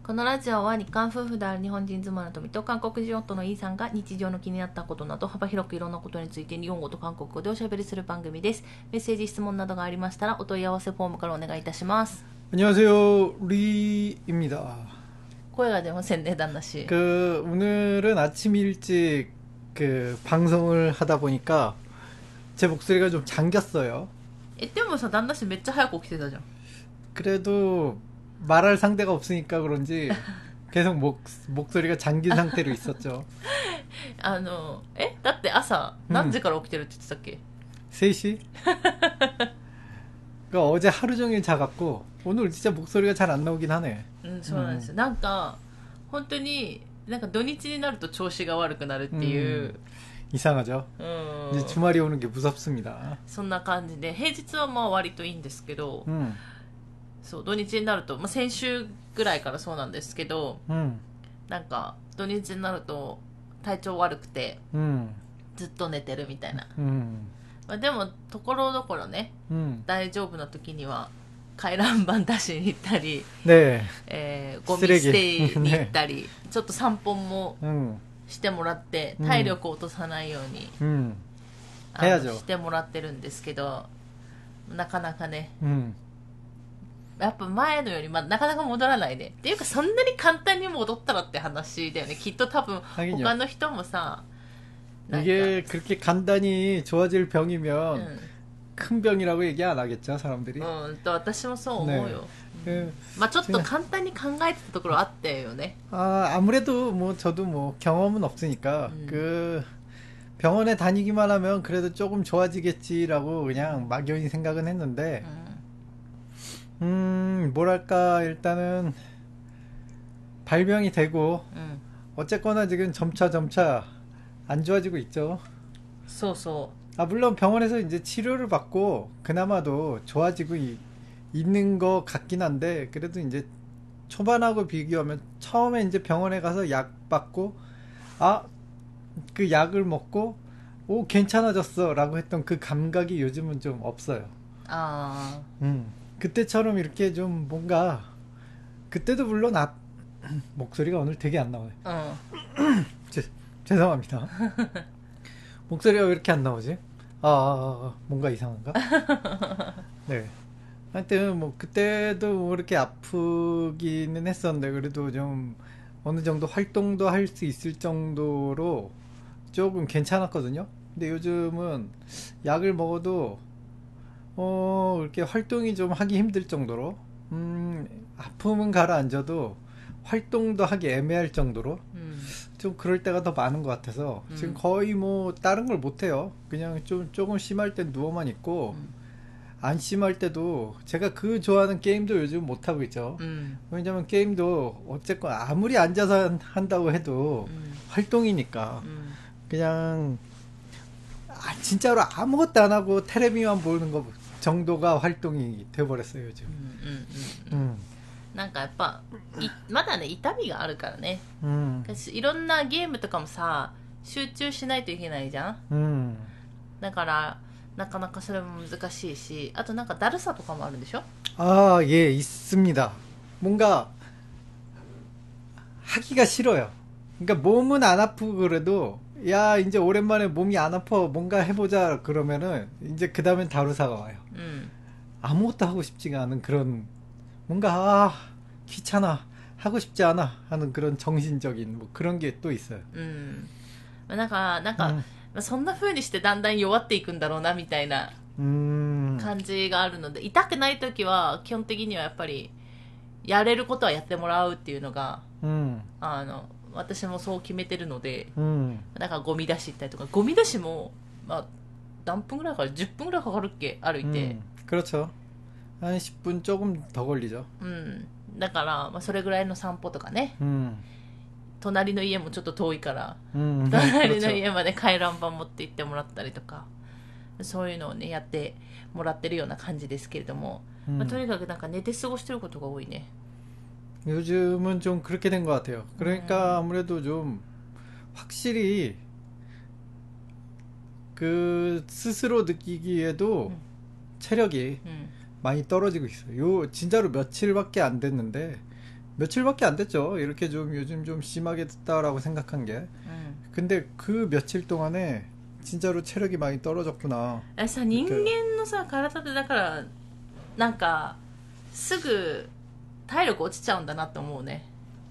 このラジオは日韓夫婦である日本人妻の富と韓国人夫のイーさんが日常の気になったことなど幅広くいろんなことについて日本語と韓国語でおしゃべりする番組です。メッセージ質問などがありましたらお問い合わせフォームからお願いいたします。 안녕하세요, 리입니다. 声が出ませんね旦那氏。 오늘은 아침 일찍 방송을 하다 보니까 제 목소리가 좀 잠겼어요. でもさ旦那氏めっちゃ早く起きてたじゃん。 그래도 말할 상대가 없으니까 그런지 계속 목소리가 잠긴 상태로 있었죠. だって朝何時から起きてるって言ってたっけ？ 3시? 그러니까 어제 하루 종일 자갖고 오늘 진짜 목소리가 잘 안 나오긴 하네. そうなんですよ。なんか本当になんか土日になると調子が悪くなるっていう、 이상하죠. 이제 주말이 오는 게 무섭습니다. そんな感じで平日はまあ割といいんですけど、そう土日になると、先週ぐらいからそうなんですけど、なんか土日になると体調悪くて、ずっと寝てるみたいな、でもところどころね、大丈夫な時には回覧板出しに行ったり、ゴミ捨てに行ったり、ちょっと散歩もしてもらって、体力を落とさないように、してもらってるんですけど、なかなかね、やっぱ前のより、なかなか戻らないね。っていうかそんなに簡単に戻ったらって話だよね。きっと多分他の人もさ、 이게 그렇게 간단히 좋아질 병이면 큰 병이라고 얘기 안 하겠죠, 사람들이. 私もそう思うよ。ちょっと簡単に考えてたところあったよね。 아무래도 뭐 저도 뭐 경험은 없으니까 병원에 다니기만 하면 그래도 조금 좋아지겠지라고 그냥 막연히 생각은 했는데, 뭐랄까, 일단은 발병이 되고 어쨌거나 지금 점차 안 좋아지고 있죠. 물론 병원에서 이제 치료를 받고 그나마도 좋아지고 있는 것 같긴 한데, 그래도 이제 초반하고 비교하면 처음에 이제 병원에 가서 약 받고 그 약을 먹고 오 괜찮아졌어 라고 했던 그 감각이 요즘은 좀 없어요. 그때처럼 이렇게 좀 뭔가, 그때도 물론 목소리가 오늘 되게 안 나와요. 죄송합니다. 목소리가 왜 이렇게 안 나오지? 뭔가 이상한가? 네. 하여튼 뭐 그때도 뭐 이렇게 아프기는 했었는데 그래도 좀 어느 정도 활동도 할 수 있을 정도로 조금 괜찮았거든요. 근데 요즘은 약을 먹어도 이렇게 활동이 좀 하기 힘들 정도로, 아픔은 가라앉아도 활동도 하기 애매할 정도로 좀 그럴 때가 더 많은 것 같아서 지금 거의 뭐 다른 걸 못해요. 그냥 조금 심할 땐 누워만 있고, 안 심할 때도 제가 그 좋아하는 게임도 요즘 못하고 있죠. 왜냐면 게임도 어쨌건 아무리 앉아서 한다고 해도 활동이니까 그냥 진짜로 아무것도 안 하고 테레비만 보는 거 정도가 활동이 돼버렸어요 요즘. なんかやっぱまだね痛みがあるからね、いろんなゲームとかもさ集中しないといけないじゃん、だからなかなかそれも難しいし、あとなんかだるさとかもあるんでしょ？ 예, 있습니다. 뭔가 하기가 싫어요. 그러니까 몸은 안 아프고 그래도 야 이제 오랜만에 몸이 안 아파 뭔가 해보자 그러면은 이제 그 다음엔 다루사가 와요. 아무것도 하고 싶지가 않은 그런, 뭔가 귀찮아 하고 싶지 않아 하는 그런 정신적인 뭐 그런 게 또 있어요. なんかそんな風にしてだんだん弱っていくんだろうなみたいな感じがあるので、痛くない時は基本的にはやっぱりやれることはやってもらうっていうのが、私もそう決めてるので、だからゴミ出し行ったりとか、ゴミ出しも何分ぐらいかかる？ 10分ぐらいかかるっけ歩いて。 그렇죠. 한 10분 조금 더 걸리죠. だからそれぐらいの散歩とかね、隣の家もちょっと遠いから、隣の家まで回覧板持って行ってもらったりとか、そういうのをねやってもらってるような感じですけれども、とにかくなんか寝て過ごしてることが多いね。 요즘은 좀 그렇게 된 것 같아요. 그러니까 아무래도 좀 확실히 그 스스로 느끼기에도 체력이 많이 떨어지고 있어요. 진짜로 며칠밖에 안 됐는데 며칠밖에 안 됐죠. 이렇게 좀 요즘 좀 심하게 됐다라고 생각한 게. 근데 그 며칠 동안에 진짜로 체력이 많이 떨어졌구나. さ、人間のさ、体ってだから、なんか、すぐ体力落ちちゃうんだなって思うね。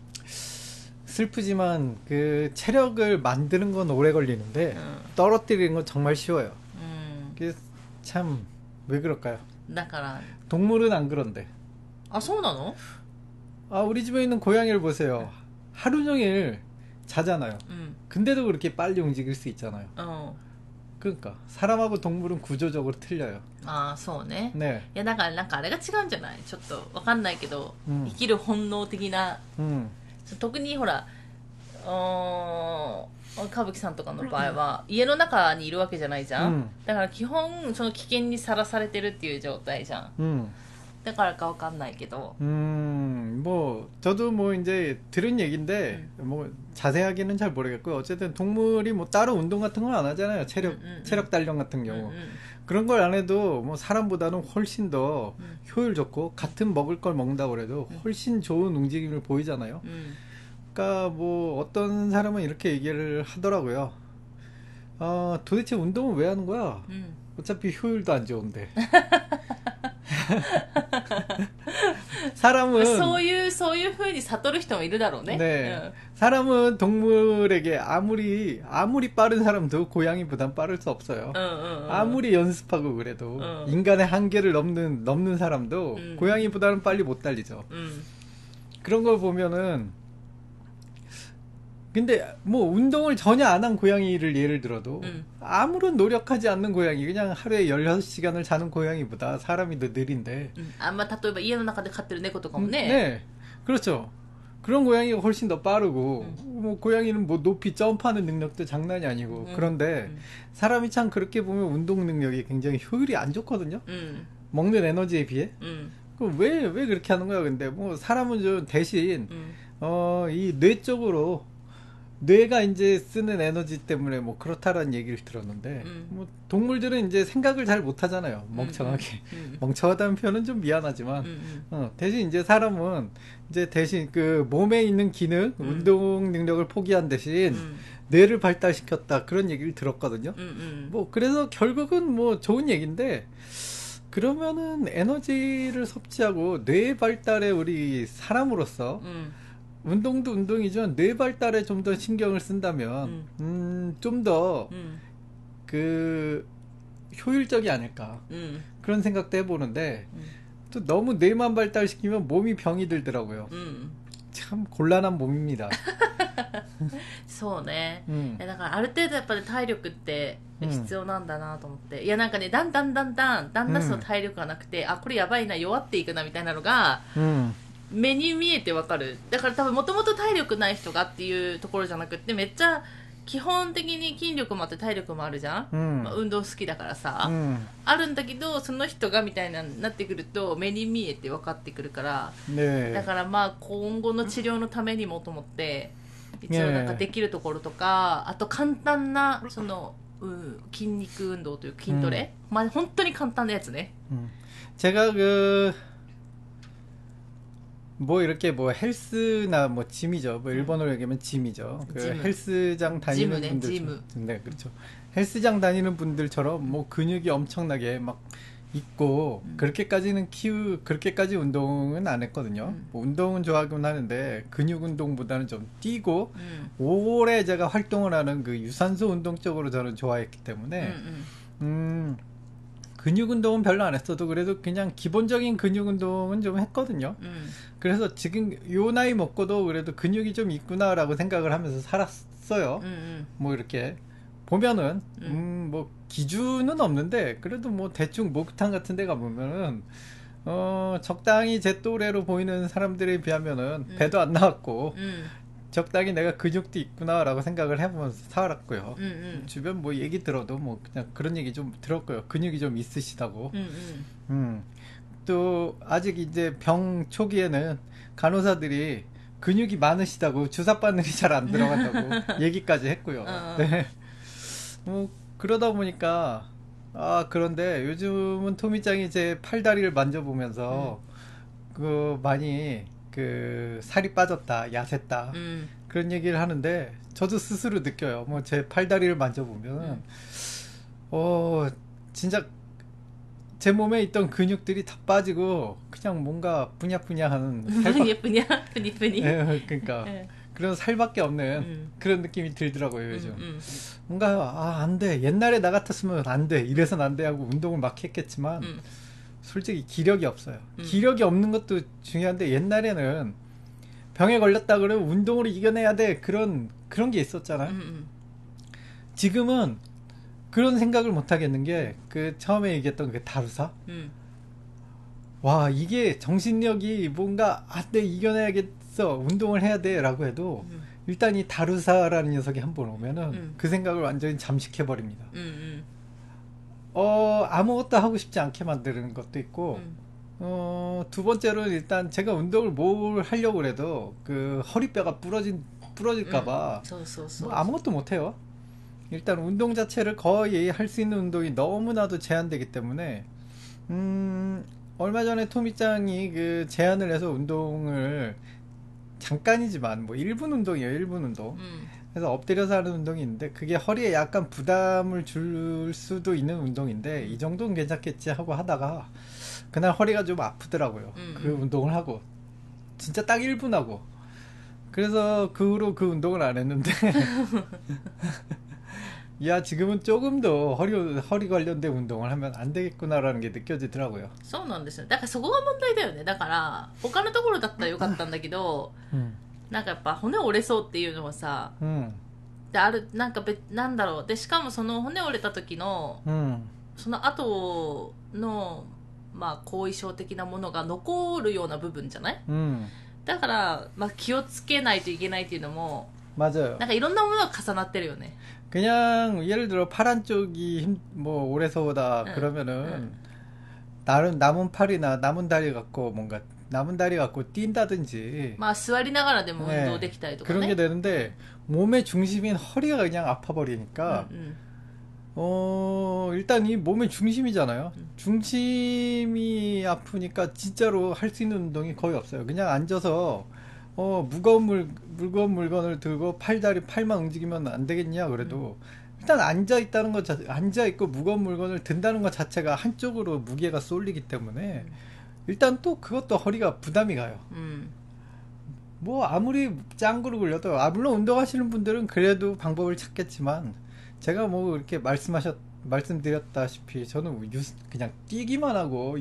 슬프지만 그 체력을 만드는 건 오래 걸리는데 떨어뜨리는 건 정말 쉬워요. 그게 참 왜 그럴까요? だから 동물은 안 그런데. あ、そうなの? 아, 우리 집에 있는 고양이를 보세요. 하루 종일 자잖아요. 근데도 그렇게 빨리 움직일 수 있잖아요. 그러니까 사람하고 동물은 구조적으로 틀려요. 아, そうね。 네. いや、だからなんかあれが違うんじゃない？ちょっとわかんないけど、生きる本能的な、特にほら、歌舞伎さんとかの場合は家の中にいるわけじゃないじゃん、だから基本その危険にさらされてるっていう状態じゃん、だからかわかんないけど 뭐 저도 뭐 이제 들은 얘기인데 뭐 자세하게는 잘 모르겠고 어쨌든 동물이 뭐 따로 운동 같은 건 안 하잖아요. 체력 단련 같은 경우 그런 걸 안 해도 뭐 사람보다는 훨씬 더 효율 좋고 같은 먹을 걸 먹는다고 그래도 훨씬 좋은 움직임을 보이잖아요. 그러니까 뭐 어떤 사람은 이렇게 얘기를 하더라고요. 도대체 운동은 왜 하는 거야? 어차피 효율도 안 좋은데. 사람은 そういう風に悟る人もいるだろうね. 네. 사람은 동물에게 아무리 빠른 사람도 고양이보단 빠를 수 없어요. 아무리 연습하고 그래도 인간의 한계를 넘는 사람도 고양이보다는 빨리 못 달리죠. 그런 걸 보면은 근데 뭐 운동을 전혀 안 한 고양이를 예를 들어도 아무런 노력하지 않는 고양이 그냥 하루에 16시간을 자는 고양이보다 사람이 더 느린데 例えば家の中で飼ってる猫とかもね 네. 그렇죠. 그런 고양이가 훨씬 더 빠르고 뭐 고양이는 뭐 높이 점프하는 능력도 장난이 아니고 그런데 사람이 참 그렇게 보면 운동 능력이 굉장히 효율이 안 좋거든요. 먹는 에너지에 비해. 그럼 왜 그렇게 하는 거야? 근데 뭐 사람은 좀 대신 이 뇌 쪽으로 뇌가 이제 쓰는 에너지 때문에 뭐 그렇다라는 얘기를 들었는데 뭐 동물들은 이제 생각을 잘 못하잖아요. 멍청하게. 멍청하다는 표현은 좀 미안하지만 대신 이제 사람은 이제 대신 그 몸에 있는 기능, 운동 능력을 포기한 대신 뇌를 발달시켰다 그런 얘기를 들었거든요. 뭐 그래서 결국은 뭐 좋은 얘기인데 그러면은 에너지를 섭취하고 뇌 발달에 우리 사람으로서 운동도 운동이지만 뇌 발달에 좀 더 신경을 쓴다면 좀 더 그 효율적이 아닐까 그런 생각도 해보는데 또 너무 뇌만 발달시키면 몸이 병이 들더라고요. 참 곤란한 몸입니다. そうね、だからある程度やっぱり体力って必要なんだなと思って、いやなんかねだんだんその体力がなくて、あこれやばいな弱っていくなみたいなのが、目に見えてわかる。だから多分もともと体力ない人がっていうところじゃなくってめっちゃ基本的に筋力もあって体力もあるじゃん、まあ、運動好きだからさ、あるんだけどその人がみたいなになってくると目に見えて分かってくるから、だからまあ今後の治療のためにもと思って一応なんかできるところとか、あと簡単なその、筋肉運動という筋トレ、まあ本当に簡単なやつね。 제가 뭐 이렇게 뭐 헬스나 뭐 짐이죠. 뭐 일본어로 얘기하면 짐이죠. 그 헬스장 다니는 분들, 네 그렇죠. 헬스장 다니는 분들처럼 뭐 근육이 엄청나게 막 있고 그렇게까지 운동은 안 했거든요. 뭐 운동은 좋아하긴 하는데 근육 운동보다는 좀 뛰고 오래 제가 활동을 하는 그 유산소 운동 쪽으로 저는 좋아했기 때문에 근육 운동은 별로 안 했어도 그래도 그냥 기본적인 근육 운동은 좀 했거든요. 그래서 지금 요 나이 먹고도 그래도 근육이 좀 있구나라고 생각을 하면서 살았어요. 뭐 이렇게 보면은 뭐 기준은 없는데 그래도 뭐 대충 목욕탕 같은 데 가보면은 적당히 제 또래로 보이는 사람들에 비하면은 배도 안 나왔고 적당히 내가 근육도 있구나라고 생각을 해보면서 살았고요. 주변 뭐 얘기 들어도 뭐 그냥 그런 얘기 좀 들었고요. 근육이 좀 있으시다고. 또 아직 이제 병 초기에는 간호사들이 근육이 많으시다고 주사 바늘이 잘 안 들어간다고 얘기까지 했고요. 네. 뭐 그러다 보니까 그런데 요즘은 토미짱이 제 팔다리를 만져보면서 그 많이 그 살이 빠졌다, 야샜다 그런 얘기를 하는데 저도 스스로 느껴요. 뭐 제 팔다리를 만져보면 진짜 제 몸에 있던 근육들이 다 빠지고 그냥 뭔가 부냐부냐하는 살밖에 뿌니 그러니까 그런 살밖에 없는 그런 느낌이 들더라고요 요즘. 뭔가 안 돼, 옛날에 나 같았으면 안 돼, 이래선 안 돼 하고 운동을 막 했겠지만 솔직히 기력이 없어요. 기력이 없는 것도 중요한데 옛날에는 병에 걸렸다 그러면 운동으로 이겨내야 돼, 그런 게 있었잖아요. 지금은 그런 생각을 못 하겠는 게 그 처음에 얘기했던 그 다루사. 와, 이게 정신력이 뭔가 돼, 이겨내야겠어, 운동을 해야 돼 라고 해도 일단 이 다루사라는 녀석이 한 번 오면은 그 생각을 완전히 잠식해 버립니다. 아무것도 하고 싶지 않게 만드는 것도 있고 두 번째로는 일단 제가 운동을 뭘 하려고 그래도 그 허리뼈가 부러질까봐 뭐 아무것도 못해요. 일단 운동 자체를 거의 할 수 있는 운동이 너무나도 제한되기 때문에 얼마 전에 토미짱이 그 제안을 해서 운동을 잠깐이지만 뭐 1분 운동이에요. 1분 운동. 그래서 엎드려서 하는 운동이 있는데 그게 허리에 약간 부담을 줄 수도 있는 운동인데 이 정도는 괜찮겠지 하고 하다가 그날 허리가 좀 아프더라고요. 그 운동을 하고 진짜 딱 1분 하고 그래서 그 후로 그 운동을 안 했는데 야, 지금은 조금 더 허리 관련된 운동을 하면 안 되겠구나라는 게 느껴지더라고요. そうなんですよ。だからそこが問題だよね。だから他のところだったらよかったんだけど、なんかやっぱ骨折れそうっていうのはさ、でなんかなんだろう。でしかもその骨折れた時の、その後のまあ後遺症的なものが残るような部分じゃない？だからまあ気をつけないといけないっていうのも、 맞아요. なんかいろんなものが重なってるよね。 그냥 예를 들어 팔 한쪽이 뭐 오래서 오다 그러면은 남은 팔이나 남은 다리 갖고 뭔가 남은 다리 갖고 뛴다든지 まあ座りながらでも運動できたりとかね 그런 게 되는데 몸의 중심인 허리가 그냥 아파 버리니까 일단 이 몸의 중심이잖아요. 중심이 아프니까 진짜로 할 수 있는 운동이 거의 없어요. 그냥 앉아서 무거운 물건을 들고 팔만 움직이면 안 되겠냐 그래도 일단 앉아있다는 것 앉아있고 무거운 물건을 든다는 것 자체가 한쪽으로 무게가 쏠리기 때문에 일단 또 그것도 허리가 부담이 가요. 뭐 아무리 짱구를 굴려도 물론 운동하시는 분들은 그래도 방법을 찾겠지만 제가 뭐 이렇게 말씀드렸다시피 저는 그냥 뛰기만 하고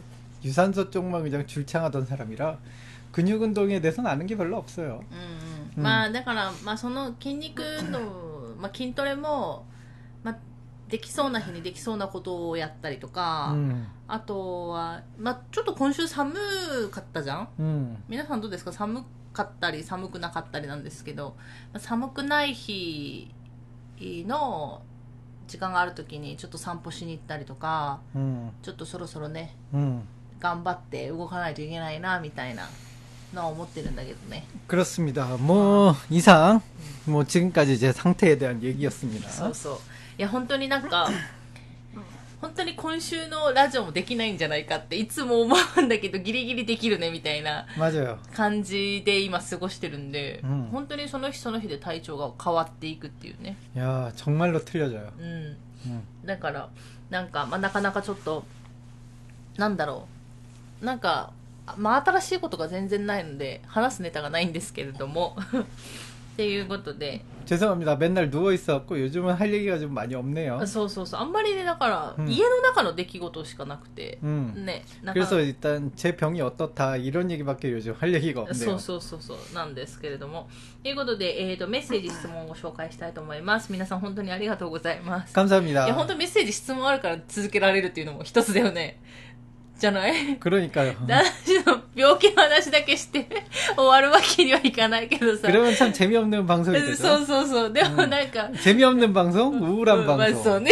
유산소 쪽만 그냥 줄창하던 사람이라 근육 운동에 대해서는 아는 게 별로 없어요. まあだからまあその筋肉運動、まあ筋トレもまあできそうな日にできそうなことをやったりとか、あとはまあちょっと今週寒かったじゃん。皆さんどうですか？寒かったり寒くなかったりなんですけど、寒くない日の時間があるときにちょっと散歩しに行ったりとか、ちょっとそろそろね、頑張って動かないといけないなみたいな。 思ってるんだけどね. 그렇습니다. 뭐 이상 뭐 지금까지 제 상태에 대한 얘기였습니다. そうそう。いや本当になんか本当に今週のラジオもできないんじゃないかっていつも思うんだけどギリギリできるねみたいな感じで今過ごしてるんで本当にその日その日で体調が変わっていくっていうね. 야 정말로 틀려져요. だからなんかまあなかなかちょっとなんだろうなんか まあ新しいことが全然ないので話すネタがないんですけれどもっていうことで 죄송합니다. 맨날 누워 있어갖고 요즘은 할 얘기가 좀 많이 없네요. そうそうそうあんまりねだから家の中の出来事しかなくてね 그래서 일단 제 병이 어떻다 이런 얘기밖에 요즘 할 얘기가 없네요. そうそうそうそうなんですけれどもということでメッセージ質問を紹介したいと思います。皆さん本当にありがとうございます。 감사합니다. いや本当メッセージ質問あるから続けられるっていうのも一つだよね。 じゃない 그러니까요. 私の病気の話だけして終わるわけにはいかないけどさ 그러면 참 재미없는 방송이 되죠. そうそうそうでもなんか 재미없는 방송? 우울한 방송. 맞어. 네.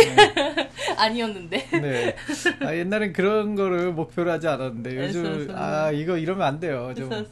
아니었는데. 네. 옛날엔 그런 거를 목표로 하지 않았는데 요즘 이거 이러면 안 돼요.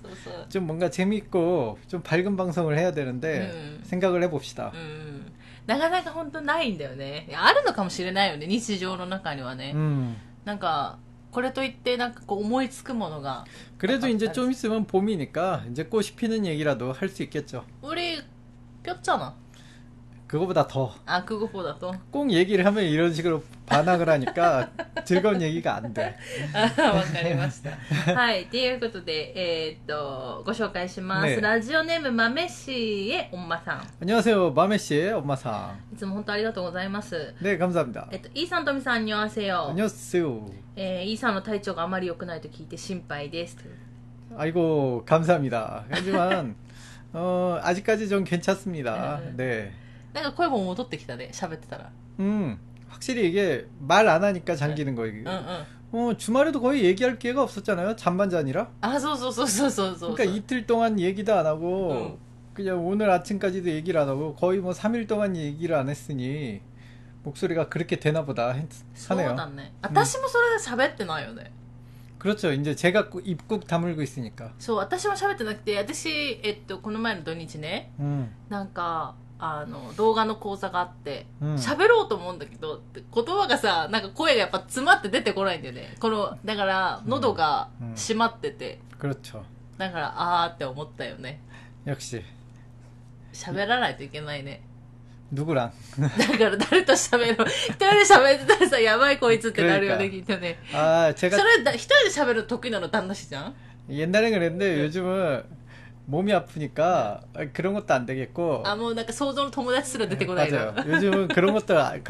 좀 뭔가 재밌고 좀 밝은 방송을 해야 되는데 생각을 해봅시다. なかなか本当ないんだよね。あるのかもしれないよね。日常の中にはね。なんかこれといってなんかこう思いつくものが 그래도 이제 좀 있으면 봄이니까 이제 꽃이 피는 얘기라도 할 수 있겠죠. 우리 꼈잖아. 그거보다 더. 아, 그거보다 더? 꼭 얘기를 하면 이런 식으로 반항을 하니까 즐거운 얘기가 안 돼. わかりました。はい。ということで、ご紹介します。 ねラジオネーム、豆씨의 엄마さん。 안녕하세요. 마메씨의 엄마상. いつも本当ありがとうございます。 네, 감사합니다. イーさん、とみさん、안녕하세요。 안녕하세요. イーさんの体調があまり良くないと聞いて心配です。 아이고, 감사합니다. 하지만, 아직까지 좀 괜찮습니다. 네. なんか声も戻ってきたね、喋ってたら。 확실히 이게 말 안 하니까 잠기는 거예요. 주말에도 거의 얘기할 기회가 없었잖아요. 잠만 자니라. 아, そうそうそうそうそうそう。 그러니까 이틀 동안 얘기도 안 하고 그냥 오늘 아침까지도 얘기를 안 하고 거의 뭐 3일 동안 얘기를 안 했으니 목소리가 그렇게 되나 보다 하네요. そうだね。私もそれで喋ってないよね。 그렇죠. 이제 제가 입국 다물고 있으니까. そう、私も喋ってなくて、私、この前の土日ね、なんか、動画の講座があって、喋ろうと思うんだけど、言葉がさ、なんか声がやっぱ詰まって出てこないんだよね。だから、喉が閉まってて。 그렇죠. だから、あーって思ったよね。 역시. 喋らないといけないね。 누구랑? だから誰と喋る一人で喋ってたらさ、やばいこいつってなるよね、きっとね。 아, 제가 それ、一人で喋るの得意なの旦那氏じゃん 옛날엔 그랬는데 요즘은 몸이 아프니까 그런 것도 안 되겠고. 아, 뭐,なんか想像の友達すら出てこないの。 맞아요. 요즘은 그런 것도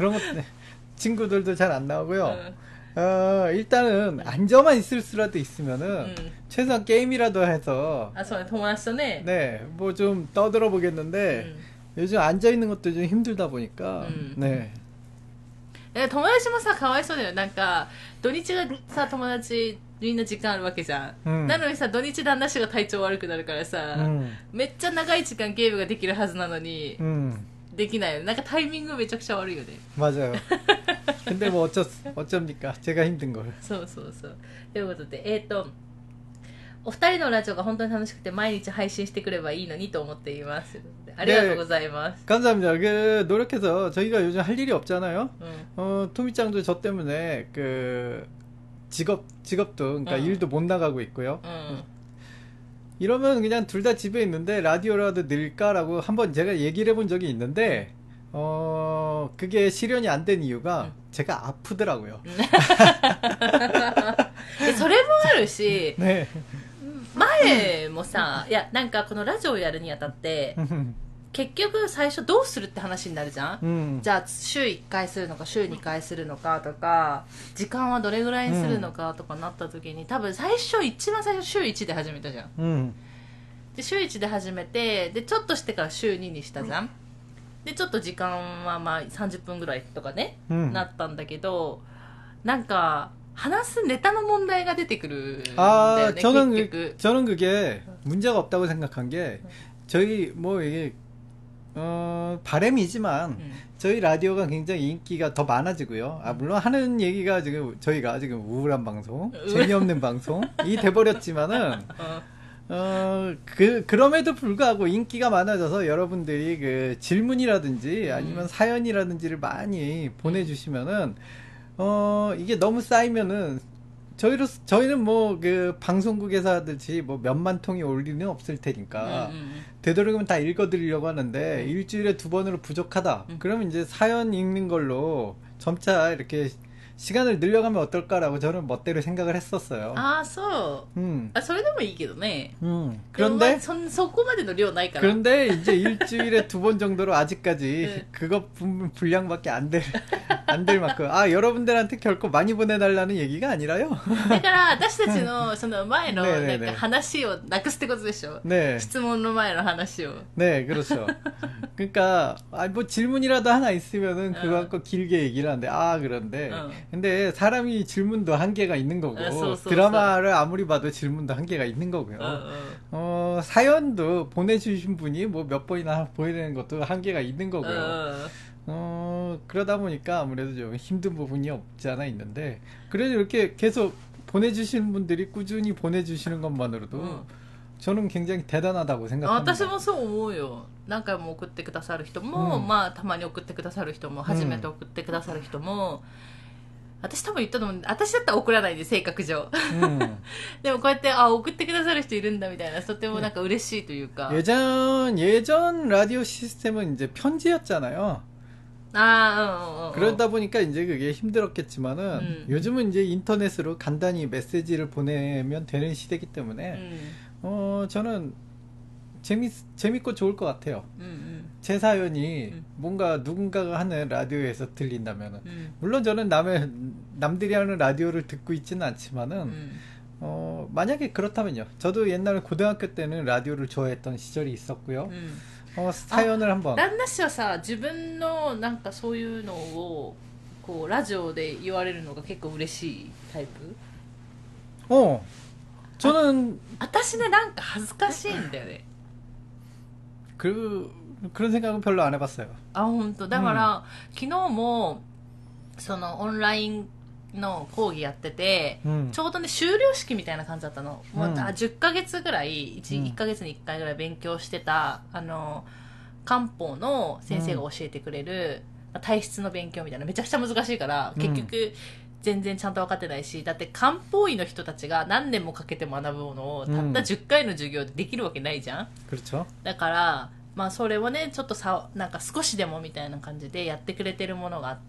친구들도 잘 안 나오고요. 일단은 앉아만 있을 수라도 있으면은 최소한 게임이라도 해서. 아, そうね、友達とね。 네, 뭐 좀 떠들어 보겠는데 요즘 앉아 있는 것도 좀 힘들다 보니까. 네. 友達もさ、かわいそうだよ。なんか、土日がさ、友達みんな時間あるわけじゃん。なのにさ、土日旦那氏が体調悪くなるからさ、めっちゃ長い時間ゲームができるはずなのに、できないよね。なんかタイミングめちゃくちゃ悪いよね。 맞아요. 근데 뭐 어쩝니까? 제가 힘든 걸. そうそうそう。ということで、お二人のラジオが本当に楽しくて毎日配信してくればいいのにと思っています。ありがとうございます。 감사합니다. 노력해서 저희가 요즘 할 일이 없잖아요. 토미짱도 저 때문에 직업도 그러니까 일도 못 나가고 있고요. 이러면 그냥 둘 다 집에 있는데 라디오라도 늘까라고 한번 제가 얘기를 해본 적이 있는데 그게 실현이 안 된 이유가 제가 아프더라고요. それもあるし、 네. 前もさ、いや、なんかこのラジオをやるにあたって、結局最初どうするって話になるじゃん、じゃあ週1回するのか週2回するのかとか、時間はどれぐらいにするのかとかなった時に、多分一番最初週1で始めたじゃん、で週1で始めて、でちょっとしてから週2にしたじゃん、でちょっと時間はまあ30分ぐらいとかね、なったんだけど、なんか話すネタの問題が出てくるんだよね。 저는 그게 문제가 없다고 생각한 게 저희 뭐 이게 바람이지만 저희 라디오가 굉장히 인기가 더 많아지고요. 물론 하는 얘기가 지금 저희가 지금 우울한 방송, 재미없는 방송이 돼버렸지만은 그럼에도 불구하고 인기가 많아져서 여러분들이 그 질문이라든지 아니면 사연이라든지를 많이 보내주시면은 이게 너무 쌓이면은 저희는 뭐 그 방송국에서 하듯이 뭐 몇만 통이 올 리는 없을 테니까 되도록이면 다 읽어드리려고 하는데 일주일에 2번으로 부족하다. 그러면 이제 사연 읽는 걸로 점차 이렇게 시간을 늘려가면 어떨까라고 저는 멋대로 생각을 했었어요. 아, そう。それでもいいけどね。 그런데 そこまでの量ないから。 그런데 이제 일주일에 2번 정도로 아직까지 그것 분량밖에 안 될 만큼 여러분들한테 결코 많이 보내달라는 얘기가 아니라요. だから私たちのその前のなんか話をなくすってことでしょ。 네. 質問の前の話を。 네, 그렇죠. 그러니까 뭐 질문이라도 하나 있으면은 그거 갖고 길게 얘기를 하는데 그런데 근데 사람이 질문도 한계가 있는 거고 드라마를 아무리 봐도 질문도 한계가 있는 거고요. 사연도 보내주신 분이 뭐 몇 번이나 보내는 것도 한계가 있는 거고요. 그러다 보니까 아무래도 좀 힘든 부분이 없지 않아 있는데 그래도 이렇게 계속 보내주시는 분들이 꾸준히 보내주시는 것만으로도 저는 굉장히 대단하다고 생각합니다. 私もそう思うよ。何回も送ってくださる人も、まあたまに送ってくださる人も、初めて送ってくださる人も、 私多分言ったと思うんで、私だったら送らないで、性格上。でもこうやって、送ってくださる人いるんだみたいな、とてもなんか嬉しいというか。 예전 라디오 시스템은 이제 편지였잖아요. 그러다 보니까 이제 그게 힘들었겠지만은, 요즘은 이제 인터넷으로 간단히 메시지를 보내면 되는 시대이기 때문에, 저는 재밌고 좋을 것 같아요. 제 사연이 뭔가 누군가가 하는 라디오에서 들린다면은, 물론 저는 남들이 하는 라디오를 듣고 있지는 않지만은, 만약에 그렇다면요. 저도 옛날에 고등학교 때는 라디오를 좋아했던 시절이 있었고요. 사연을 한번. 旦那氏はさ、自分のなんかそういうのをこうラジオで言われるのが結構嬉しいタイプ？ 저는 私ね、なんか恥ずかしいんだよね。 그런 생각은 별로 안 해봤어요. 本当。だから、昨日もそのオンラインの講義やってて、ちょうどね修了式みたいな感じだったの。もう10ヶ月ぐらい 1ヶ月に1回ぐらい勉強してた漢方の先生が教えてくれる体質の勉強みたいな、めちゃくちゃ難しいから、結局全然ちゃんと分かってないし、だって漢方医の人たちが何年もかけて学ぶものをたった10回の授業でできるわけないじゃん。だからまあそれをねちょっとなんか少しでもみたいな感じでやってくれてるものがあって、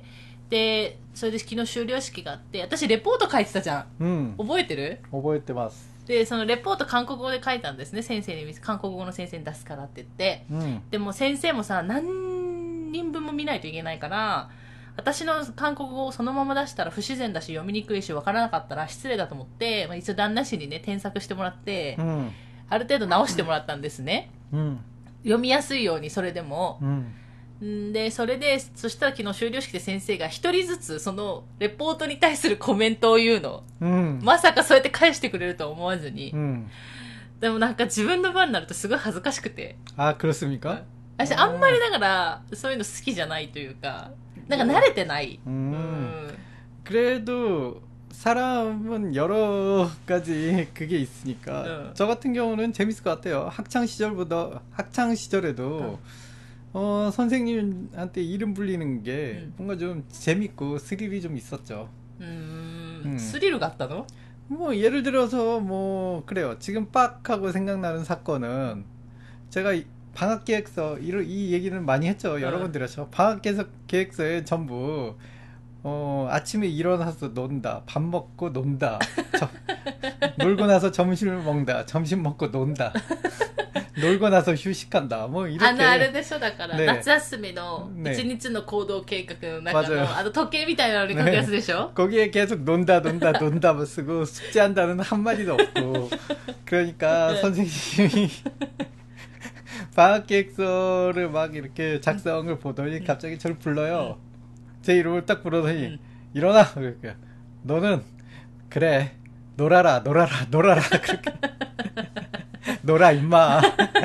でそれで昨日修了式があって、私レポート書いてたじゃん、覚えてる？ 覚えてます。 でそのレポート韓国語で書いたんですね、先生に韓国語の先生に出すからって言って、でも先生もさ何人分も見ないといけないから、私の韓国語をそのまま出したら不自然だし読みにくいし分からなかったら失礼だと思って、一応旦那氏にね添削してもらって、ある程度直してもらったんですね、読みやすいように。それでも、でそそしたら昨日修了式で先生が一人ずつそのレポートに対するコメントを言うの、まさかそうやって返してくれるとは思わずに、でもなんか自分の番になるとすごい恥ずかしくて。 그렇습니까？ 私あんまりだからそういうの好きじゃないというか、なんか慣れてない。 그래도 사람은 여러 가지 그게 있으니까 저 같은 경우는 재밌을 것 같아요. 학창 시절에도 선생님한테 이름 불리는 게 뭔가 좀 재밌고 스릴이 좀 있었죠. 스릴 같다 너? 뭐 예를 들어서 뭐 그래요. 지금 빡 하고 생각나는 사건은, 제가 방학계획서 이 얘기는 많이 했죠. 여러 번 드렸죠. 방학계획서에 전부 아침에 일어나서 논다, 밥 먹고 논다, 놀고 나서 점심을 먹는다, 점심 먹고 논다, 놀고 나서 휴식한다, 뭐 이렇게. あれでしょ、だから、夏休みの一日の行動計画の中の時計みたいなのに書くやつでしょ? 거기에 계속 논다만 쓰고 숙제한다는 한마디도 없고. 그러니까 선생님이 방학계획서를 막 이렇게 작성을 보더니 갑자기 저를 불러요. 제 이름을 딱 부르더니 일어나. 그러니까 너는 그래 놀아라 그렇게. 놀아 임마.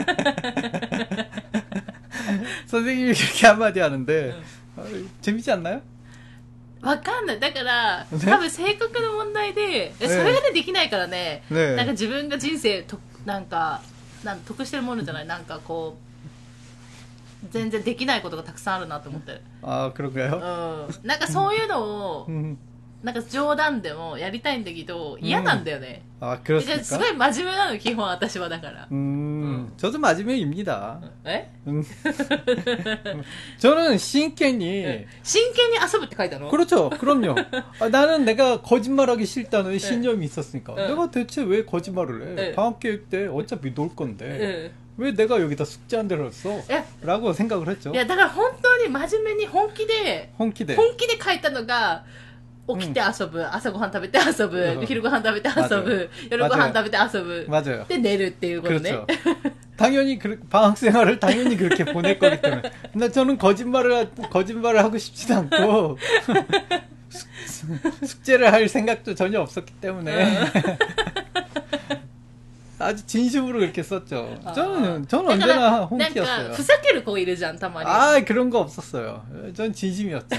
선생님이 그렇게 한마디 하는데 재밌지 않나요? わかんない。だから、多分性格の問題で、それがねできないからね、なんか自分が人生なんか得してるものじゃない、なんかこう全然できないことがたくさんあるなと思って。 그런가요? なんかそういうのをなんか冗談でもやりたいんだけど嫌なんだよね。 그렇습니까? すごい真面目なの基本私は。だから 저도真面目입니다. 저는真剣に遊ぶって書いたの? 그렇죠. 그럼요. 나는 내가 거짓말하기 싫다는 신념이 있었으니까. 내가 대체 왜 거짓말을 해? 방학계획 때 어차피 놀 건데 왜 내가 여기다 숙제한대를 써? 라고 생각을 했죠. だから本当に真面目に本気で書いたのが、起きて遊ぶ、朝ごはん食べて遊ぶ、昼ごはん食べて遊ぶ、夜ごはん食べて遊ぶ、で寝るっていうことね。 당연히 방학생활을 당연히 그렇게 보낼 거기 때문에. 근데 저는 거짓말을 하고 싶지도 않고 숙제를 할 생각도 전혀 없었기 때문에 아주 진심으로 그렇게 썼죠. 저는 언제나 홍키였어요. ふざける子いるじゃん、たまに。 그런 거 없었어요. 전 진심이었죠.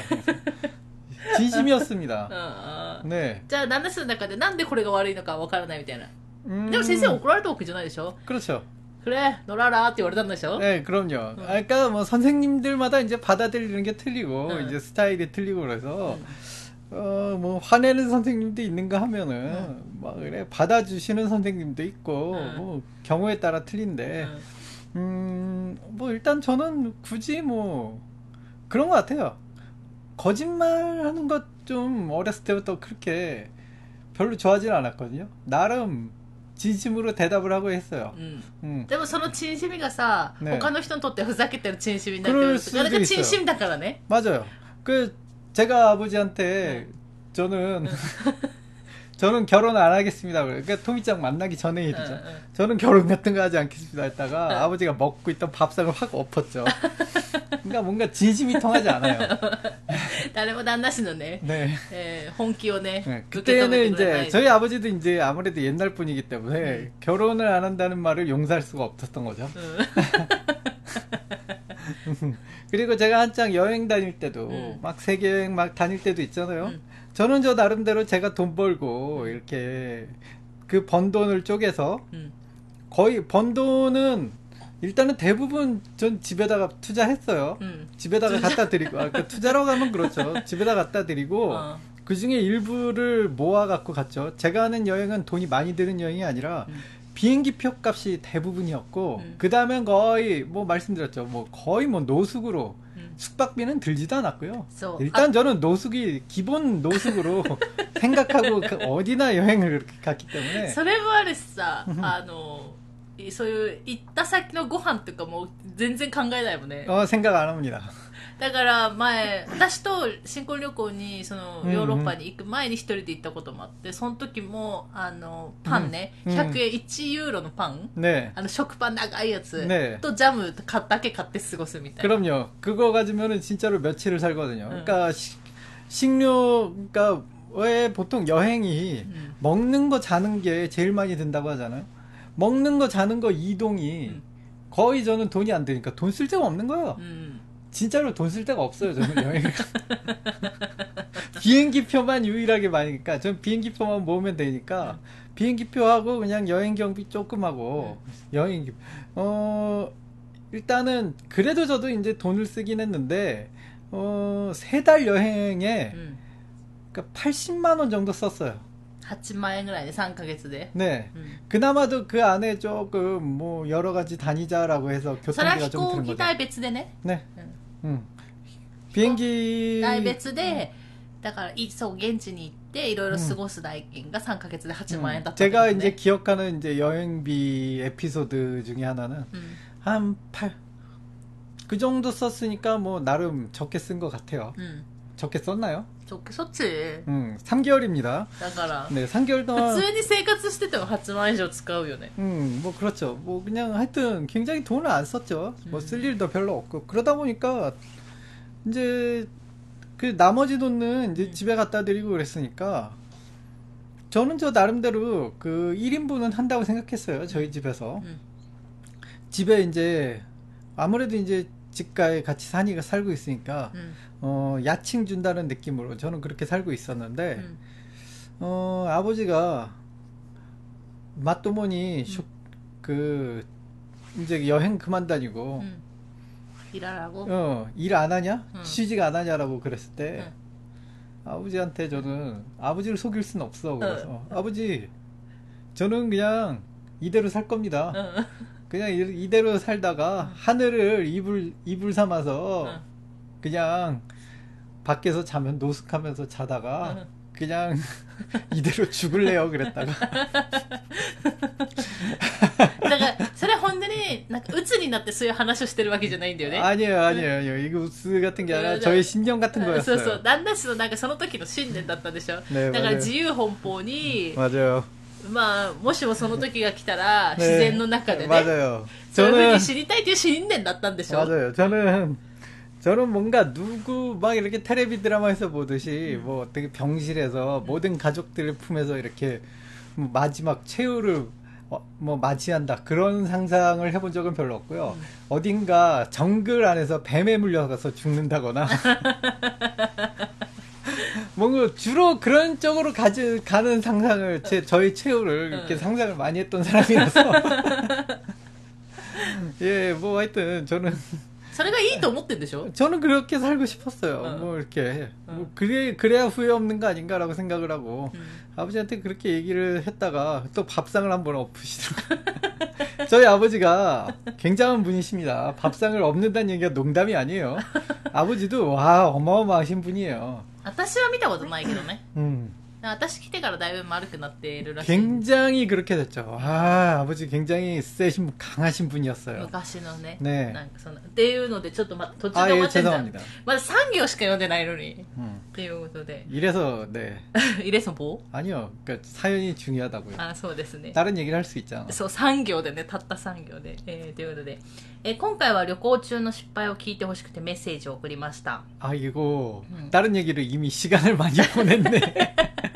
진심이었습니다. 네. じゃあ旦那さんの中でなんでこれが悪いのかわからないみたいな。でも先生怒られたわけじゃないでしょ? 그렇죠. 그래 놀아라って言われたんでしょ? 네, 그럼요. 그러니까 뭐 선생님들마다 이제 받아들이는 게 틀리고 이제 스타일이 틀리고 그래서 뭐 화내는 선생님도 있는가 하면은 막 그래 받아주시는 선생님도 있고 뭐 경우에 따라 틀린데 뭐 일단 저는 굳이 뭐 그런 것 같아요. 거짓말하는 것 좀 어렸을 때부터 그렇게 별로 좋아하진 않았거든요. 나름 진심으로 대답을 하고 했어요. でもその진심이가さ、 네. 他の人にとってふざけてる진심이になってる。그러니까 진심だからね。 맞아요. 그 제가 아버지한테 저는 결혼 안 하겠습니다. 그러니까 토미짱 만나기 전에 일이죠. 저는 결혼 같은 거 하지 않겠습니다 했다가 아버지가 먹고 있던 밥상을 확 엎었죠. 그러니까 뭔가 진심이 통하지 않아요. 誰も旦那氏のね、 네. 本気をね、 네. 그때는 이제 저희 아버지도 이제 아무래도 옛날 분이기 때문에 결혼을 안 한다는 말을 용서할 수가 없었던 거죠. 그리고 제가 한창 여행 다닐 때도 막 세계 여행 막 다닐 때도 있잖아요. 저는 저 나름대로 제가 돈 벌고 이렇게 그 번 돈을 쪼개서 거의 번 돈은 일단은 대부분 전 집에다가 투자했어요. 집에다가 갖다 드리고 그 투자라고 하면 그렇죠. 집에다 갖다 드리고 그 중에 일부를 모아 갖고 갔죠. 제가 하는 여행은 돈이 많이 드는 여행이 아니라 비행기표 값이 대부분이었고 그 다음엔 거의 뭐 말씀드렸죠. 뭐 거의 뭐 노숙으로 숙박비는 들지도 않았고요. 일단 저는 노숙이 기본 노숙으로 생각하고 어디나 여행을 그렇게 갔기 때문에. それもあるしさ、そういう行った先のご飯とかも全然考えないもんね。 생각 안 합니다. だから前、私と新婚旅行にそのヨーロッパに行く前に一人で行ったこともあって、その時もパンね、100円1ユーロのパン、 네. 食パン長いやつ 네. とジャムだけ買って過ごすみたいな。 그럼요. 그거 가지면은 진짜로 며칠을 살거든요. 그러니까 식료 그러니까 왜 보통 여행이 먹는 거 자는 게 제일 많이 든다고 하잖아요. 먹는 거 자는 거 이동이 거의 저는 돈이 안 드니까 돈 쓸 데가 없는 거예요. 진짜로 돈 쓸 데가 없어요, 저는 여행을. 비행기표만 유일하게 많으니까, 전 비행기표만 모으면 되니까, 비행기표하고 그냥 여행 경비 조금 하고, 여행기, 일단은, 그래도 저도 이제 돈을 쓰긴 했는데, 3달 여행에, 그러니까 80만원 정도 썼어요. 8만 원ぐらいで 3ヶ月で. 네. 그나마도 그 안에 조금 뭐 여러 가지 다니자라고 해서 교통비가 좀 드는 거죠. 飛行機代別でね. 네. 비행기 代別でだからそう現地に行っていろいろ過ごす代金が3ヶ月で8万円だったってことね. 제가 이제 기억하는 이제 여행비 에피소드 중에 하나는 한 8. 그 정도 썼으니까 뭐 나름 적게 쓴 것 같아요. 적게 썼나요? 적게 썼지. 3개월입니다. だから 네, 3개월 동안 普通に生活してても8万円以上使うよね. 뭐 그렇죠. 뭐 그냥 하여튼 굉장히 돈을 안 썼죠. 뭐 쓸 일도 별로 없고 그러다 보니까 이제 그 나머지 돈은 이제 집에 갖다 드리고 그랬으니까 저는 저 나름대로 그 1인분은 한다고 생각했어요. 저희 집에서. 집에 이제 아무래도 이제 집가에 같이 살고 있으니까 야칭 준다는 느낌으로 저는 그렇게 살고 있었는데 아버지가 맞도모니 그 이제 여행 그만 다니고 일하라고? 일 안 하냐? 취직 안 하냐라고 그랬을 때 아버지한테 저는 아버지를 속일 수는 없어. 그래서 아버지 저는 그냥 이대로 살 겁니다. 그냥 이대로 살다가 하늘을 이불 삼아서 그냥 밖에서 자면 노숙하면서 자다가 그냥 이대로 죽을래요 그랬다가 だからそれ本当になんか鬱になってそういう話をしてるわけじゃないんだよね. 아니에요. 이거 우스 같은 게 아니라 저의 신념 같은 거였어요. そうそう旦那氏のなんかその時の信念だったでしょ. 네, だから自由奔放に 맞아요. まあもしもその時が来たら自然の中でね 맞아요. そういう風に知りたいという信念だったんでしょ. 맞아요. 저는 뭔가 누구 막 이렇게 텔레비 드라마에서 보듯이 뭐 되게 병실에서 모든 가족들을 품에서 이렇게 마지막 최후를 뭐 맞이한다 그런 상상을 해본 적은 별로 없고요. 어딘가 정글 안에서 뱀에 물려가서 죽는다거나 뭔가 주로 그런 쪽으로 가는 상상을 저희 최후를 이렇게 상상을 많이 했던 사람이라서 예, 뭐 하여튼 저는 それがいいと思ってんでしょ? 저는 그렇게 살고 싶었어요. 뭐 이렇게 뭐 그래야 후회 없는 거 아닌가라고 생각을 하고 아버지한테 그렇게 얘기를 했다가 또 밥상을 한번 엎으시더라고요. 저희 아버지가 굉장한 분이십니다. 밥상을 엎는다는 얘기가 농담이 아니에요. 아버지도 와 어마어마하신 분이에요. 私は見たことないけどね。私来てからだいぶ丸くなっているらしい。 굉장히 그렇게 됐죠. 아, 아버지 굉장히 세신 강하신 분이었어요. 昔のね。 네. なんかそのっていうのでちょっと途中 아, で終 예, わってんじゃん。 죄송합니다. まだ3行しか読んでないのに。っていうことで。 이래서 네. 이래서 뭐? 아니요. 그러니까 사연이 중요하다고요. あ、そうですね。 다른 얘기를 할 수 있잖아. そう、3行でね、たった3行で。ということで、今回は旅行中の失敗を聞いてほしくてメッセージを送りました。 아, 이거 다른 얘기를 이미 시간을 많이 보냈네.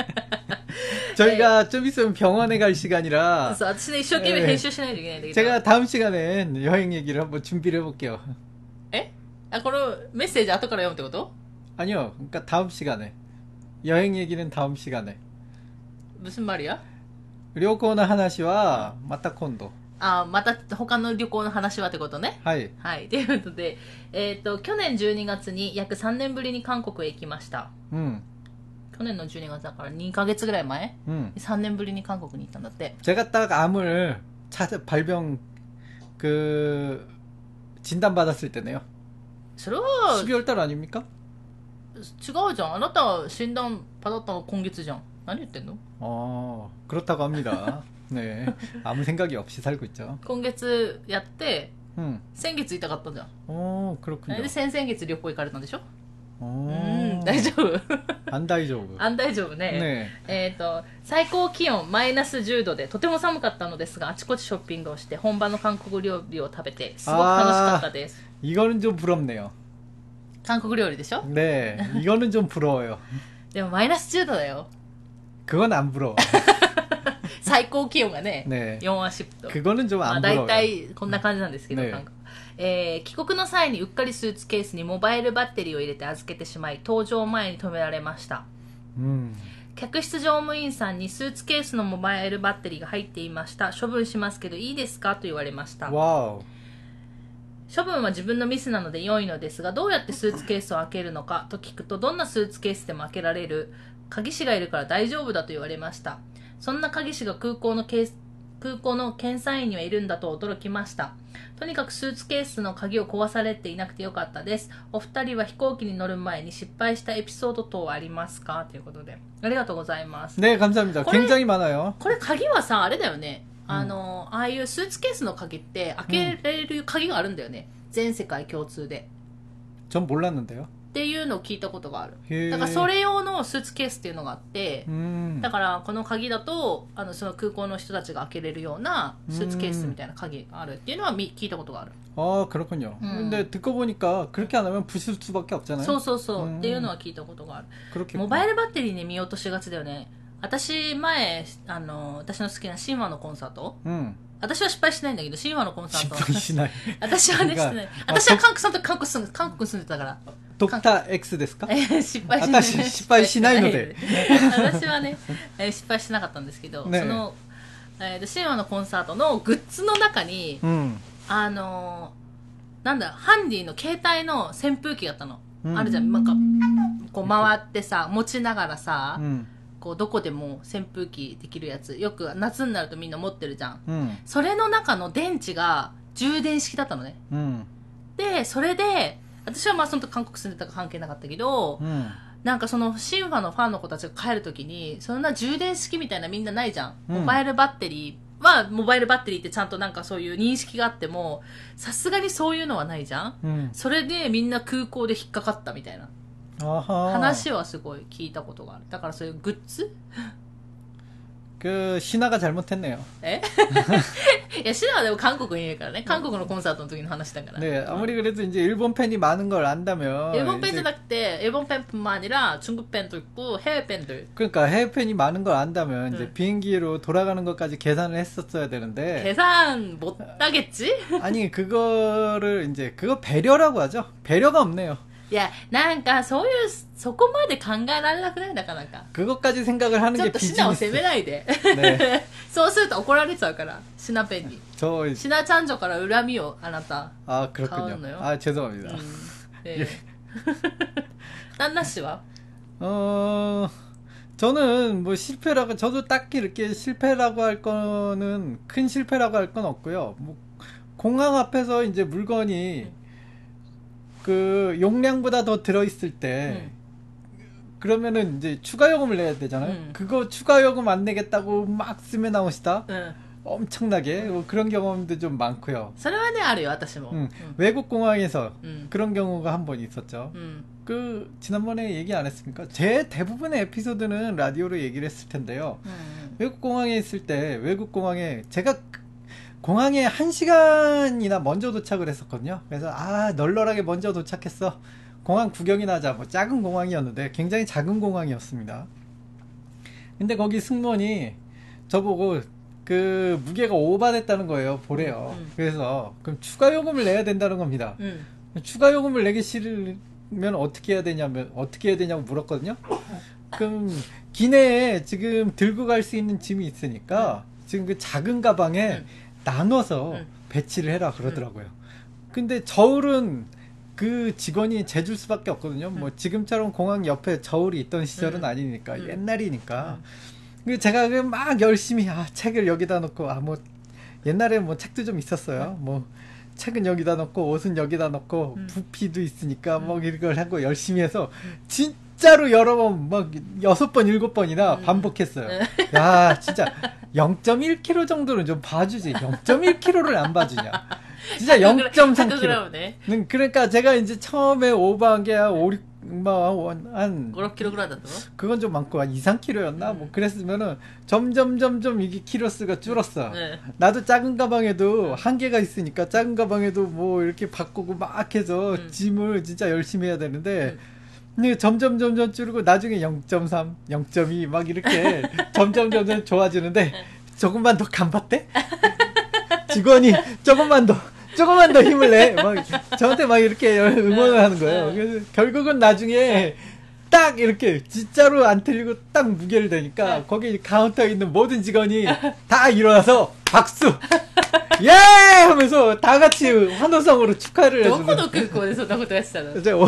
저희가 좀 있으면 병원에 갈 시간이라 そう、私ね、一生懸命編集しないといけないんだけど。 제가 다음 시간엔 여행 얘기를 한번 준비를 해볼게요. あ、このメッセージ後から読むってこと? 아니요. 그러니까 다음 시간에. 여행 얘기는 다음 시간에. 무슨 말이야? 旅行の話はまた今度。 あ、また他の旅行の話はってことね。 はい。 はい。ということで、去年12月に約3年ぶりに韓国へ行きました。去年の12月だから2ヶ月ぐらい前、3年ぶりに韓国に行ったんだって。 제가 딱 암을 발병 진단받았을 때네요. それは 12월 달 아닙니까? 違うじゃん。あなた診断받았다の今月じゃん。何言ってんの? 그렇다고 합니다. 네. 아무 생각이 없이 살고 있죠. 今月やって、先月痛かったじゃん。 그렇군요. で、先々月旅行行かれたんでしょ? 大丈夫? 안大丈夫. 안大丈夫ね。最高気温マイナス10度でとても寒かったのですが、あちこちショッピングをして本場の韓国料理を食べてすごく楽しかったです。 이거는 좀 부럽네요. 韓国料理でしょ? 네. 이거는 좀 부러워요. でもマイナス10度だよ。 그건 안 부러워. 最高気温がね、 네. 40度。 그거는 좀 안 부러워요. だいたいこんな感じなんですけど、韓国。帰国の際にうっかりスーツケースにモバイルバッテリーを入れて預けてしまい、搭乗前に止められました。客室乗務員さんにスーツケースのモバイルバッテリーが入っていました。処分しますけどいいですかと言われました。処分は自分のミスなので良いのですが、どうやってスーツケースを開けるのかと聞くと、どんなスーツケースでも開けられる鍵師がいるから大丈夫だと言われました。そんな鍵師が空港の検査員にはいるんだと驚きました。とにかくスーツケースの鍵を壊されていなくてよかったです。お二人は飛行機に乗る前に失敗したエピソード等はありますかということで。ありがとうございます。 네, 감사합니다. 굉장히 많아요. これ鍵はさ、あれだよね。ああいうスーツケースの鍵って開けられる鍵があるんだよね。全世界共通で。 전 몰랐는데요. っていうのを聞いたことがある。だからそれ用のスーツケースっていうのがあって、だからこの鍵だとその空港の人たちが開けれるようなスーツケースみたいな鍵があるっていうのは聞いたことがある。 그렇군요. 근데 듣고 보니까 그렇게 안 하면 부실 수밖에 없잖아요. そうそうそう、っていうのは聞いたことがある。モバイルバッテリーに見落としがちだよね。私前私の好きなシンワのコンサート、私は失敗しないんだけど、シンワのコンサート失敗しない。 私はね、してない。私は韓国住んでたから。 ドクター X ですか？ 失敗しない。 私失敗しないので。 私はね、失敗しなかったんですけど、そのシンワのコンサートのグッズの中に、なんだ、ハンディの携帯の扇風機があったの。あるじゃん。なんかこう回ってさ、持ちながらさ、こうどこでも扇風機できるやつ、よく夏になるとみんな持ってるじゃん。それの中の電池が充電式だったのね。で、それで私はまあその時韓国住んでたから関係なかったけど、なんかそのシンファのファンの子たちが帰る時に、そんな充電式みたいなみんなないじゃん。モバイルバッテリーは、モバイルバッテリーってちゃんとなんかそういう認識があっても、さすがにそういうのはないじゃん。それでみんな空港で引っかかったみたいな話はすごい聞いたことがある。だからそういうグッズ 신화가 잘못했네요. いや、シナはでも韓国にいるからね。韓国のコンサートの時の話だから。 네, 아무리 그래도 이제 일본 팬이 많은 걸 안다면. 일본 팬じゃなくて, 일본 팬뿐만 아니라 중국 팬도 있고 해외 팬들. 그러니까 해외 팬이 많은 걸 안다면 이제 비행기로 돌아가는 것까지 계산을 했었어야 되는데. 계산 못 하겠지? 아니, 그거를 이제 그거 배려라고 하죠. 배려가 없네요. いや、なんか、そういう、そこまで考えられなくないなかなか。 그것까지 생각을 하는 ちょっ 게 とシナを責 비즈니스. めないで。 네. そうすると怒られちゃうから、シナペンに。 저, シナちゃん女から恨みを、あなた。 아, 그렇군요. 가온노요? 아, 죄송합니다. ね旦那氏は 저는 뭐 실패라고, 저도 딱히 이렇게 실패라고 할 거는, 큰 실패라고 할 건 없고요. 뭐, 공항 앞에서 이제 물건이 그 용량보다 더 들어있을 때, 그러면은 이제 추가 요금을 내야 되잖아요. 그거 추가 요금 안 내겠다고 막 쓰며 나오시다. 엄청나게 뭐 그런 경험도 좀 많고요. それはねあるよ私も 외국 공항에서 그런 경우가 한 번 있었죠. うん 그 지난번에 얘기 안 했습니까? 제 대부분의 에피소드는 라디오로 얘기를 했을 텐데요. 외국 공항에 있을 때 외국 공항에 제가 공항에 1시간이나 먼저 도착을 했었거든요. 그래서 아 널널하게 먼저 도착했어. 공항 구경이나 하자. 뭐 작은 공항이었는데 굉장히 작은 공항이었습니다. 근데 거기 승무원이 저보고 그 무게가 오버됐다는 거예요. 보래요. 그래서 그럼 추가 요금을 내야 된다는 겁니다. 추가 요금을 내기 싫으면 어떻게 해야 되냐고 물었거든요. 그럼 기내에 지금 들고 갈 수 있는 짐이 있으니까 지금 그 작은 가방에 나눠서 배치를 해라 그러더라고요. 근데 저울은 그 직원이 재줄 수밖에 없거든요. 뭐 지금처럼 공항 옆에 저울이 있던 시절은 아니니까 옛날이니까. 제가 막 열심히 책을 여기다 놓고 뭐 옛날에 뭐 책도 좀 있었어요. 뭐 책은 여기다 놓고 옷은 여기다 놓고 부피도 있으니까 뭐 이걸 하고 열심히 해서 진짜로 여러 번 막 6번 7번이나 반복했어요. 야 진짜 0.1kg 정도는 좀 봐주지 0.1kg를 안 봐주냐. 진짜 0.3kg. 그러니까 제가 이제 처음에 오버한 게 한 5-6kgぐらいだったの? 그건 좀 많고 한 2-3kg였나? 뭐 그랬으면은 점점 이게 키로수가 줄었어. 네. 나도 작은 가방에도 한계가 있으니까 작은 가방에도 뭐 이렇게 바꾸고 막 해서 짐을 진짜 열심히 해야 되는데 근데 점점 줄고 나중에 0.3, 0.2 막 이렇게 점점 좋아지는데 조금만 더 간봤대? 직원이 조금만 더 힘을 내. 막, 저한테 막 이렇게 응원을 하는 거예요. 그래서 결국은 나중에 딱 이렇게 진짜로 안 틀리고 딱 무게를 대니까 거기 카운터에 있는 모든 직원이 다 일어나서 박수! 예! 하면서 다 같이 환호성으로 축하를 해주는. どこの空港でそんなことやってたの? 이제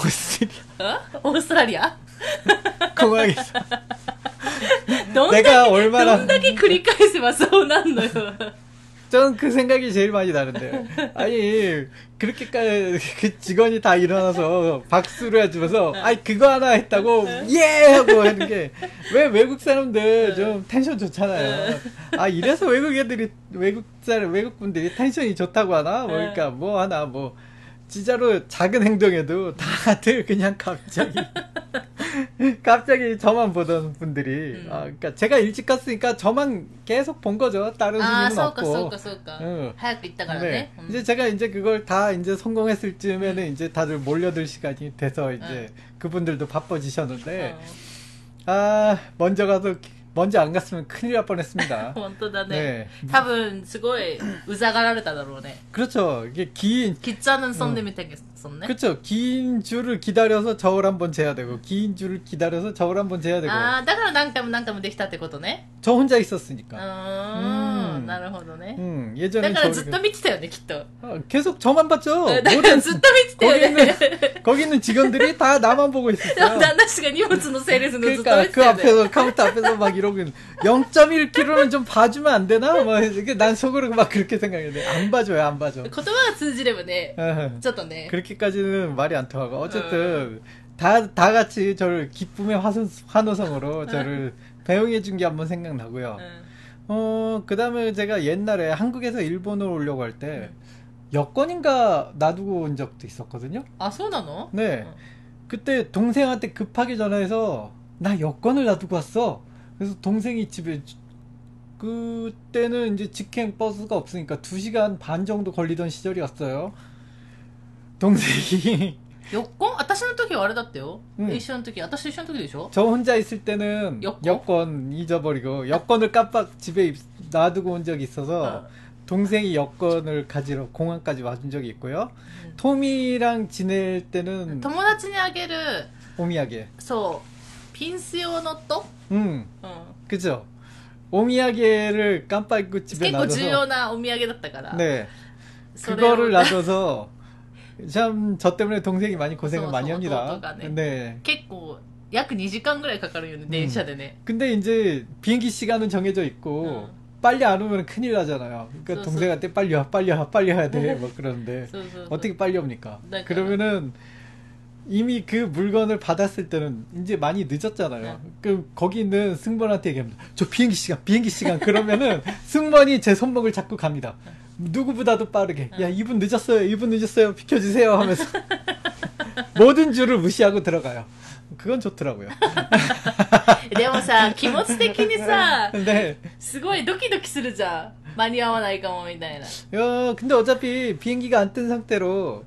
오스트라리아? 공항에서. どんだけ繰り返せばそうなんのよ. 저는 그 생각이 제일 많이 나는데. 아니, 그렇게까지 그 직원이 다 일어나서 박수를 해주면서, 아니, 그거 하나 했다고, 예! 하고 하는 게, 왜 외국 사람들 좀 텐션 좋잖아요. 아, 이래서 외국 분들이 텐션이 좋다고 하나? 뭐, 그러니까 뭐 하나, 뭐, 진짜로 작은 행동에도 다들 그냥 갑자기 저만 보던 분들이, 그러니까 제가 일찍 갔으니까 저만 계속 본 거죠. 다른 손님은 없고. そうか. 早く行ったからね. 이제 제가 이제 그걸 다 이제 성공했을 쯤에는 이제 다들 몰려들 시간이 돼서 이제 그분들도 바빠지셨는데, 먼저 안 갔으면 큰일 날 뻔했습니다. 本当だね. 多分すごいうざがられただろうね. 그렇죠. 이게 기차는 손님이 되겠었네. 그렇죠. 긴 줄을 기다려서 저울 한번 재야 되고, 긴 줄을 기다려서 저울 한번 재야 되고. 아, だから何回もできたってことね. 저 혼자 있었으니까. なるほどね. 예전에 だからずっと見てたよね, きっと. 계속 저만 봤죠. だからずっと見てたよね. 거기 있는 직원들이 다 나만 보고 있었어요. 旦那氏が荷物の整列のずっと見 그러니까 て 그 たよね. 앞에서 카운터 앞에서 막 이러고 0.1kg는 좀 봐주면 안 되나? 막 이게 난 속으로 막 그렇게 생각했는데 안 봐줘요, 안 봐줘. 言葉が通じればね, ちょっとね. 그렇게까지는 말이 안 통하고 어쨌든 다 같이 저를 기쁨의 환호성으로 저를 배웅해 준 게 한번 생각나고요. 그 다음에 제가 옛날에 한국에서 일본으로 오려고 할 때 여권인가 놔두고 온 적도 있었거든요. 아, そうなの? 네. 그때 동생한테 급하게 전화해서 나 여권을 놔두고 왔어. 그래서 동생이 집에 그때는 이제 직행 버스가 없으니까 2시간 반 정도 걸리던 시절이었어요. 동생이 4권? 私の時はあれだったよ. 一緒の時, 私と一緒の時でしょ? 저 혼자 있을 때는 여권 잊어버리고 여권을 깜빡 집에 놔두고 온 적이 있어서 동생이 여권을 가지러 공항까지 와준 적이 있고요. 토미랑 지낼 때는 友達にあげる 오미야게. そうピンス用のと 그죠. 오미야게를 깜빡 잊고 집에 結構重要 놔둬서 なお土産だったから 네 それを 그거를 놔둬서 참 저 때문에 동생이 많이 고생을 소소, 많이 합니다. 오토가 네. 네. 結構約2時間ぐらいかかるよね電車でね 근데 이제 비행기 시간은 정해져 있고 빨리 안 오면 큰일 나잖아요. 그러니까 소소. 동생한테 빨리 와, 빨리 와, 빨리 와야 돼. 뭐 그러는데 소소. 어떻게 빨리 옵니까? 네, 그러면은 이미 그 물건을 받았을 때는 이제 많이 늦었잖아요. 그 거기 있는 승무원한테 얘기합니다. 저 비행기 시간 그러면은 승무원이 제 손목을 잡고 갑니다. 누구보다도 빠르게 야 이분 늦었어요 비켜주세요 하면서 모든 줄을 무시하고 들어가요. 그건 좋더라고요. でもさ気持ち的にさ 네. すごいドキドキするじゃん間に合わないかもみたいな 야, 근데 어차피 비행기가 안 뜬 상태로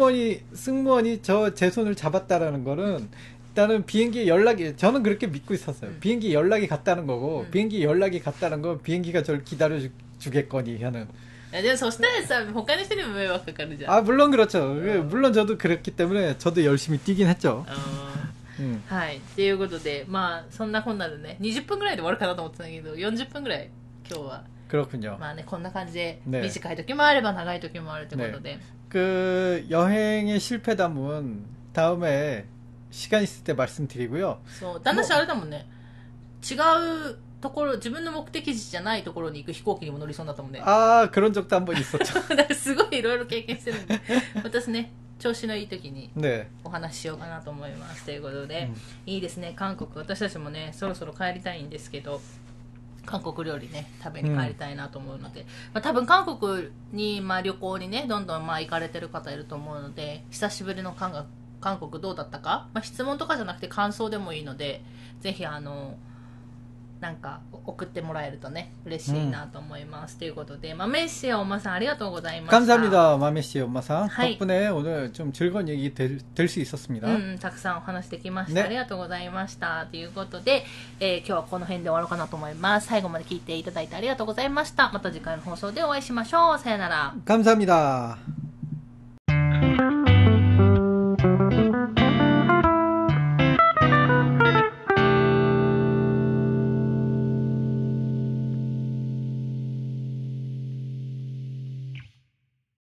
승무원이 제 손을 잡았다라는 거는 일단은 비행기 연락이 저는 그렇게 믿고 있었어요. 비행기 연락이 갔다는 거고 비행기 연락이 갔다는 건 비행기가 저를 기다려 주겠거니 하는. でもそしたらさ他の人にも迷惑かかるじゃん 아 물론 그렇죠. 물론 저도 그랬기 때문에 저도 열심히 뛰긴 했죠. はいっていうことでまあそんなこんなでね20分ぐらいで終わるかなと思ってたんだけど40分ぐらい今日は 그렇군요. まあねこんな感じで 네 短い時もあれば長い時もあるということで、 그 여행의 실패담은 다음에 시간 있을 때 말씀드리고요. そうだんだんあれだもんね違うところ自分の目的地じゃないところに行く飛行機にも乗りそうになったもんね 아 그런 적도 한 번 있었죠. だからすごいいろいろ経験してるんで私ね調子のいい時に 네. お話ししようかなと思いますということで、いいですね韓国私たちもねそろそろ帰りたいんですけど韓国料理ね食べに帰りたいなと思うので、まあ、多分韓国に、まあ、旅行にねどんどんまあ行かれてる方いると思うので久しぶりの韓国どうだったか、まあ、質問とかじゃなくて感想でもいいのでぜひなんか送ってもらえるとね嬉しいなと思います、ということで마메씨 엄마さんありがとうございました 감사합니다, 마메씨 엄마상. 하이. 덕분에 오늘 좀 즐거운 얘기 될 수 있었습니다. たくさんお話できました、 ねありがとうございましたということで、今日はこの辺で終わろうかなと思います。最後まで聞いていただいてありがとうございました。また次回の放送でお会いしましょう。さよなら。 감사합니다.